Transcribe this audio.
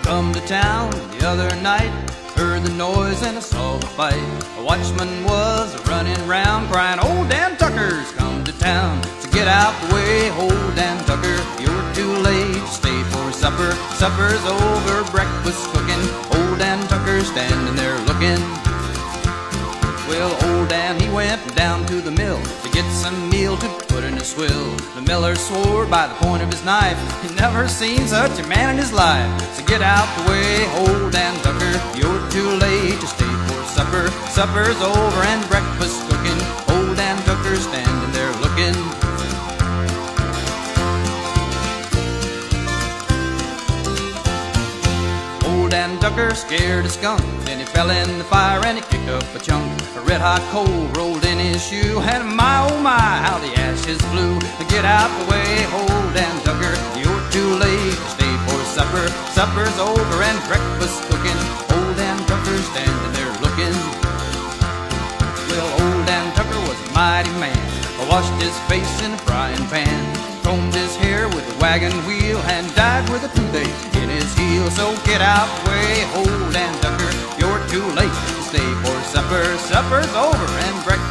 come to town the other night, heard the noise and I saw the fight. A watchman was running round crying, "Old Dan Tucker's come to town." So get out the way, old Dan Tucker, you're too late to stay for supper. Supper's over, breakfast cooking, old Dan Tucker's standing there looking. Well, old Dan, he went down to the mill to get some meal to put in his swill. The miller swore by the point of his knife he never seen such a man in his life. So get out the way, old Dan Tucker, you're too late to stay for supper. Supper's over and breakfast cooking, old Dan Tucker's standing there looking. Old Dan Tucker scared a skunk, then he fell in the fire and he kicked up a chunk. A red-hot coal rolled in his shoe, and my oh my, how the ashes flew. Get out the way, old Dan Tucker, you're too late to stay for supper. Supper's over and breakfast cooking, old Dan Tucker standing there looking. Well, old Dan Tucker was a mighty man, washed his face in a frying pan, combed his hair with a wagon wheel, and died with a toothache in his heel. So get out the way, old Dan Tucker, you're too late to stay for supper. Supper's over and breakfast